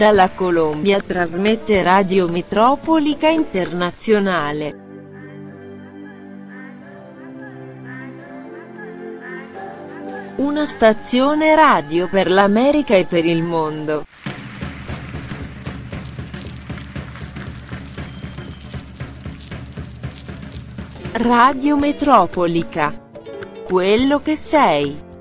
Dalla Colombia trasmette Radio Metropolica Internazionale. Una stazione radio per l'America e per il mondo. Radio Metropolica. Quello che sei.